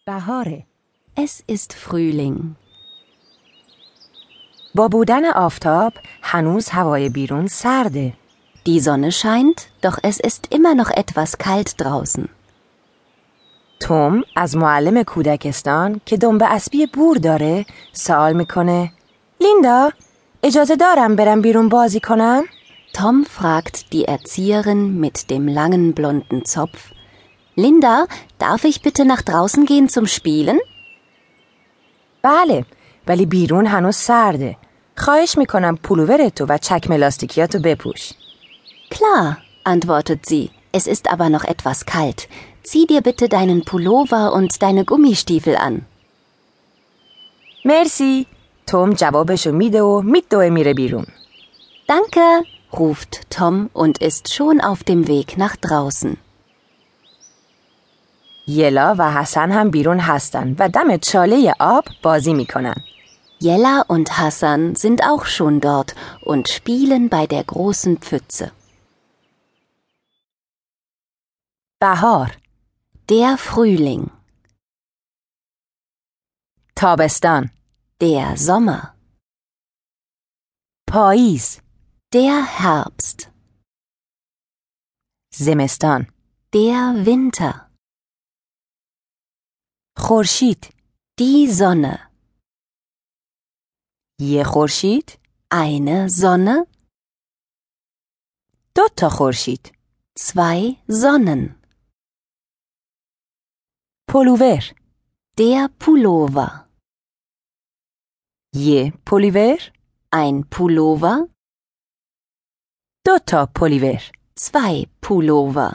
بهاره. Es ist Frühling. با بودن آفتاب هنوز هوای بیرون سرده. Die Sonne scheint, doch es ist immer noch etwas kalt draußen. توم از معلم کودکستان که دنبه اسبی بور داره سوال میکنه: لیندا، اجازه دارم برم بیرون بازی کنم؟ Tom fragt die Erzieherin mit dem langen blonden Zopf: Linda, darf ich bitte nach draußen gehen zum Spielen? بله، ولی بیرون هنوز سرده. خواهش میکنم پولوورتو و چکمه لاستیکیاتو بپوش. Klar, antwortet sie. Es ist aber noch etwas kalt. Zieh dir bitte deinen Pullover und deine Gummistiefel an. مرسی. توم جوابشو میده و میدوه میره بیرون. Danke, ruft Tom und ist schon auf dem Weg nach draußen. یلا و حسن هم بیرون هستن و دم چاله آب بازی میکنن. Jella und Hassan sind auch schon dort und spielen bei der großen Pfütze. بهار. Der Frühling. تابستان. Der Sommer. پاییز. Der Herbst. زمستان. Der Winter. خورشید. Die Sonne. یه خورشید. Eine Sonne. دو تا خورشید. Zwei Sonnen. پولوور. Der Pullover. یه پولوور. Ein Pullover. دو تا پولوور. Zwei Pullover.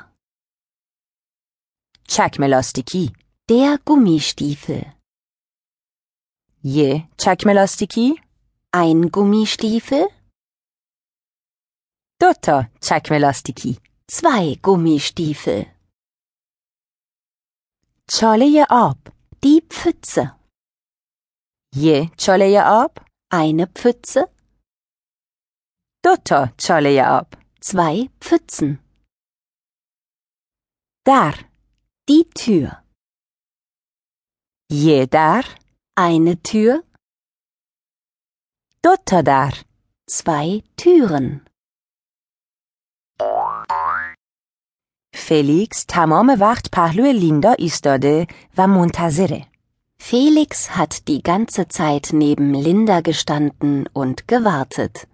چکمه لاستیکی. Der Gummistiefel. یه چکمه لاستیکی. Ein Gummistiefel. دو تا چکمه لاستیکی. Zwei Gummistiefel. چاله آب. Die Pfütze. یه چاله آب. Eine Pfütze. دو تا چاله آب. Zwei Pfützen. در. Die Tür. یه در. Eine Tür. دو تا در. Zwei Türen. فلیکس تمام وقت پهلوی لیندا ایستاده و منتظره. Felix hat die ganze Zeit neben Linda gestanden und gewartet.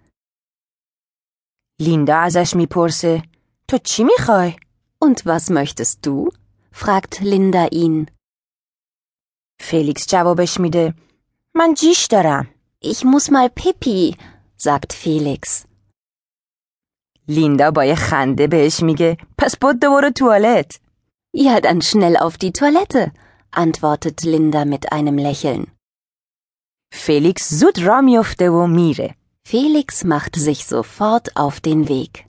لیندا ازش میپرسه: تو چی میخوای؟ Und was möchtest du? fragt Linda ihn. فلیکس جوابش میده: من جیش دارم. Ich muss mal Pipi, sagt Felix. لیندا با یه خنده بهش میگه: پس بدو برو توالت. Ja, dann schnell auf die Toilette, antwortet Linda mit einem Lächeln. فلیکس زود راه میفته و میره. Felix macht sich sofort auf den Weg.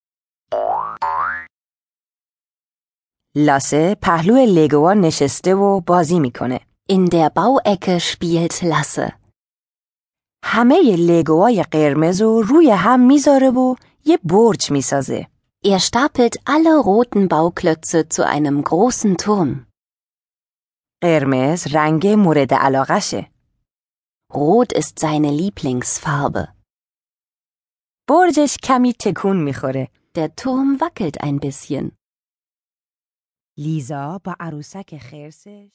لاسه پهلوی لگوها نشسته و بازی میکنه. In der Bauecke spielt Lasse. همه لگوهای قرمز رو روی هم میذاره و یه برج میسازه. Er stapelt alle roten Bauklötze zu einem großen Turm. قرمز رنگ مورد علاقشه. Rot ist seine Lieblingsfarbe. برجش کمی تکون میخوره. Der Turm wackelt ein bisschen. لیزا با عروسک خرسش